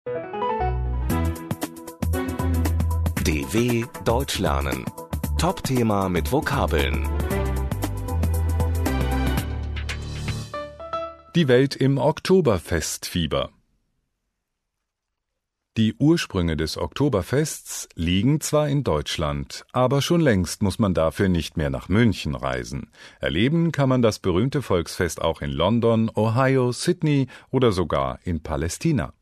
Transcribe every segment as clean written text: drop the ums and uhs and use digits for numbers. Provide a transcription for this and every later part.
DW Deutsch lernen. Top-Thema mit Vokabeln. Die Welt im Oktoberfestfieber. Die Ursprünge des Oktoberfests liegen zwar in Deutschland, aber schon längst muss man dafür nicht mehr nach München reisen. Erleben kann man das berühmte Volksfest auch in London, Ohio, Sydney oder sogar in Palästina.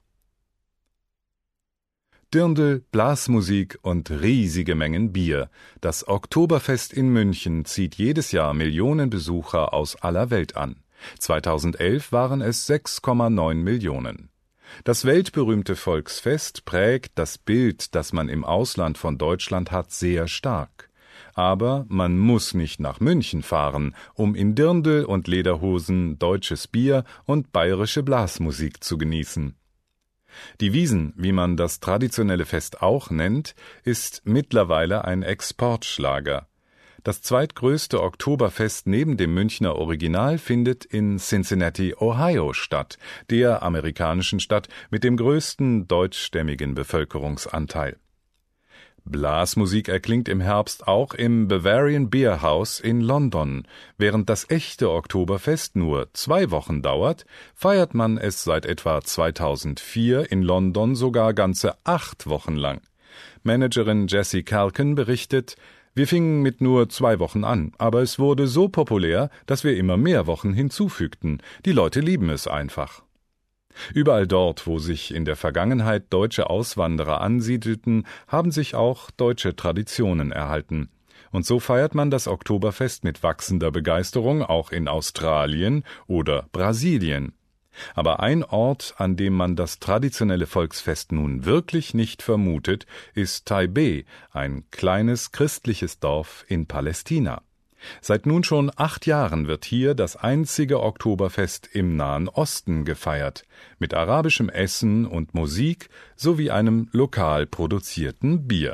Dirndl, Blasmusik und riesige Mengen Bier. Das Oktoberfest in München zieht jedes Jahr Millionen Besucher aus aller Welt an. 2011 waren es 6,9 Millionen. Das weltberühmte Volksfest prägt das Bild, das man im Ausland von Deutschland hat, sehr stark. Aber man muss nicht nach München fahren, um in Dirndl und Lederhosen deutsches Bier und bayerische Blasmusik zu genießen. Die Wiesn, wie man das traditionelle Fest auch nennt, ist mittlerweile ein Exportschlager. Das zweitgrößte Oktoberfest neben dem Münchner Original findet in Cincinnati, Ohio statt, der amerikanischen Stadt mit dem größten deutschstämmigen Bevölkerungsanteil. Blasmusik erklingt im Herbst auch im Bavarian Beer House in London. Während das echte Oktoberfest nur 2 Wochen dauert, feiert man es seit etwa 2004 in London sogar ganze 8 Wochen lang. Managerin Jessie Calkin berichtet: Wir fingen mit nur 2 Wochen an, aber es wurde so populär, dass wir immer mehr Wochen hinzufügten. Die Leute lieben es einfach. Überall dort, wo sich in der Vergangenheit deutsche Auswanderer ansiedelten, haben sich auch deutsche Traditionen erhalten. Und so feiert man das Oktoberfest mit wachsender Begeisterung auch in Australien oder Brasilien. Aber ein Ort, an dem man das traditionelle Volksfest nun wirklich nicht vermutet, ist Taipeh, ein kleines christliches Dorf in Palästina. Seit nun schon 8 Jahren wird hier das einzige Oktoberfest im Nahen Osten gefeiert, mit arabischem Essen und Musik sowie einem lokal produzierten Bier.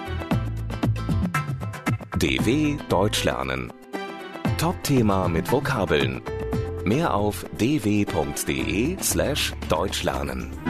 DW Deutsch lernen. Top-Thema mit Vokabeln. Mehr auf dw.de/deutschlernen.